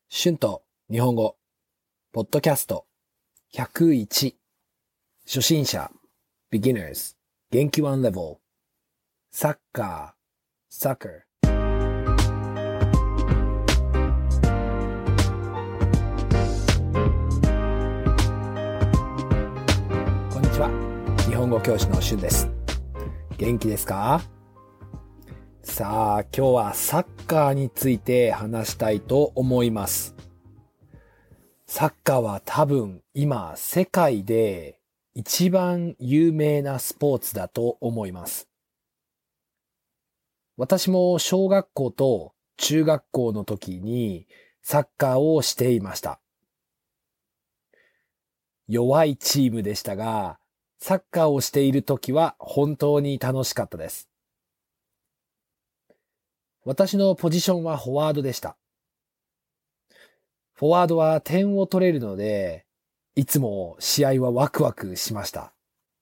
春と日本語、ポッドキャスト101、初心者、beginners、元気1レベル、サッカー、soccer。こんにちは、日本語教師の春です。元気ですか？さあ、今日はサッカーについて話したいと思います。サッカーは多分今世界で一番有名なスポーツだと思います。私も小学校と中学校の時にサッカーをしていました。弱いチームでしたが、サッカーをしている時は本当に楽しかったです。私のポジションはフォワードでした。フォワードは点を取れるので、いつも試合はワクワクしました。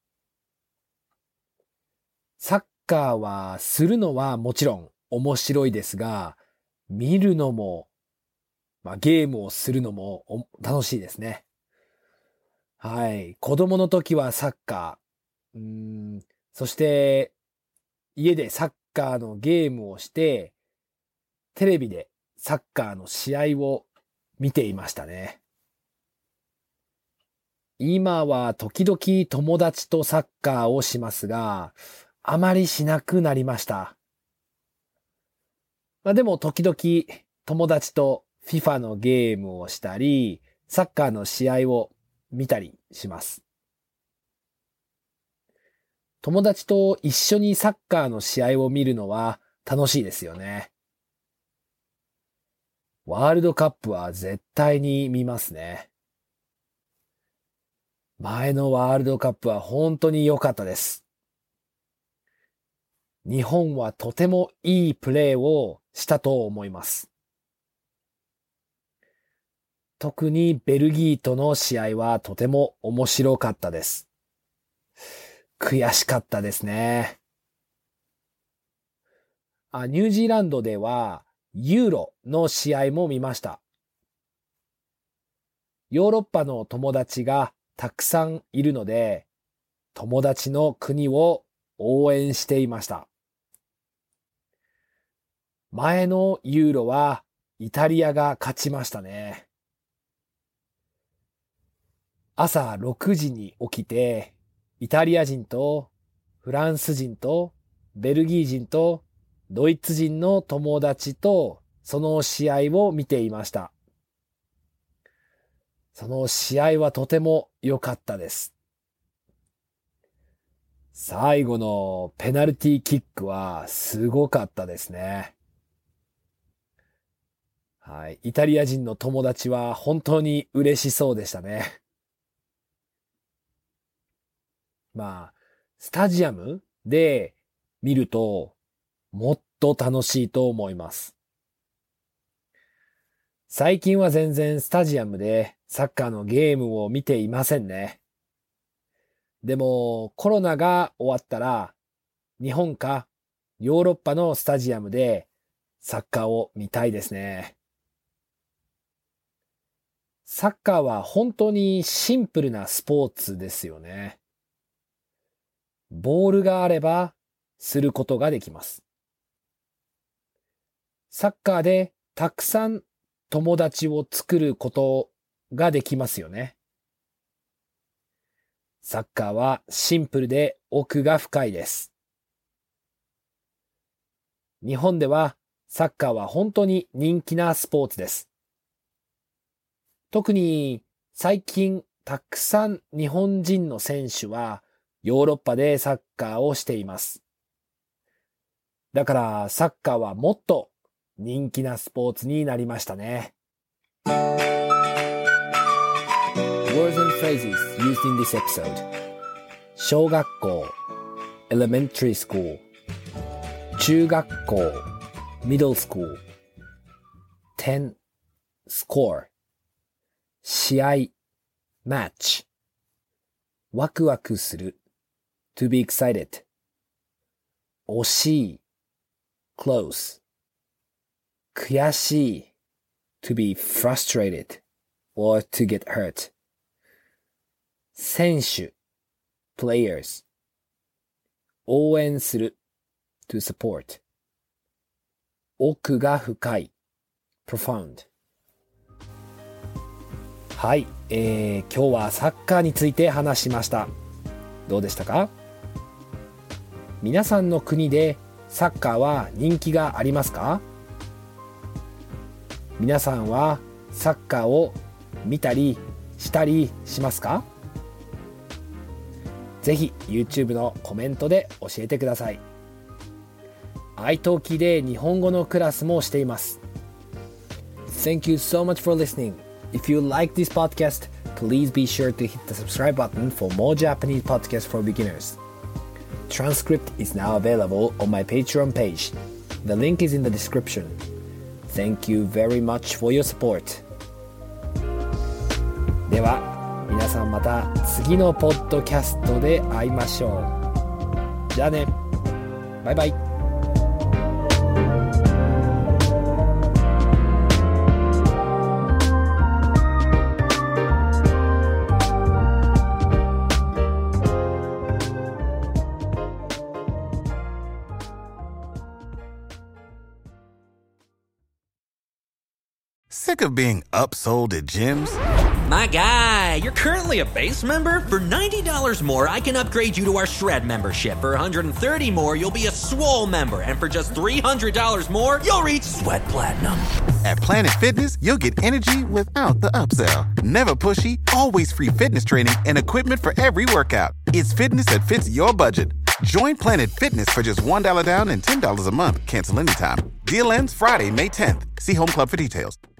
サッカーはするのはもちろん面白いですが、見るのも、ゲームをするのも楽しいですね。はい。子供の時はサッカー、そして家でサッカーのゲームをして、テレビでサッカーの試合を見ていましたね。今は時々友達とサッカーをしますが、あまりしなくなりました。でも時々友達と FIFA のゲームをしたり、サッカーの試合を見たりします。友達と一緒にサッカーの試合を見るのは楽しいですよね。ワールドカップは絶対に見ますね。前のワールドカップは本当に良かったです。日本はとてもいいプレーをしたと思います。特にベルギーとの試合はとても面白かったです。悔しかったですね。ニュージーランドではユーロの試合も見ました。ヨーロッパの友達がたくさんいるので、友達の国を応援していました。前のユーロはイタリアが勝ちましたね。朝6時に起きて、イタリア人とフランス人とベルギー人とドイツ人の友達とその試合を見ていました。その試合はとても良かったです。最後のペナルティーキックはすごかったですね。はい。イタリア人の友達は本当に嬉しそうでしたね。スタジアムで見るともっと楽しいと思います。最近は全然スタジアムでサッカーのゲームを見ていませんね。でもコロナが終わったら日本かヨーロッパのスタジアムでサッカーを見たいですね。サッカーは本当にシンプルなスポーツですよね。ボールがあればすることができます。サッカーでたくさん友達を作ることができますよね。サッカーはシンプルで奥が深いです。日本ではサッカーは本当に人気なスポーツです。特に最近たくさん日本人の選手はヨーロッパでサッカーをしています。だからサッカーはもっと人気なスポーツになりましたね。Words and phrases used in this episode. 小学校 elementary school 中学校 middle school 点 score 試合 match ワクワクする to be excited 惜しい close 悔しい to be frustrated or to get hurt. 選手 players 応援する to support 奥が深い profound はい、今日はサッカーについて話しました。どうでしたか？皆さんの国でサッカーは人気がありますか？皆さんはサッカーを見たりしたりしますか？ぜひ YouTube のコメントで教えてください。iTalki で日本語のクラスもしています。Thank you so much for listening. If you like this podcast, please be sure to hit the subscribe button for more Japanese podcasts for beginners. Transcript is now available on my Patreon page. The link is in the description. Thank you very much for your support. では、皆さんまた次のポッドキャストで会いましょう。じゃあね。バイバイ。 Sick of being upsold at gyms? My guy, you're currently a base member? For $90 more, I can upgrade you to our Shred membership. For $130 more, you'll be a Swole member. And for just $300 more, you'll reach Sweat Platinum. At Planet Fitness, you'll get energy without the upsell. Never pushy, always free fitness training and equipment for every workout. It's fitness that fits your budget. Join Planet Fitness for just $1 down and $10 a month. Cancel anytime. Deal ends Friday, May 10th. See Home Club for details.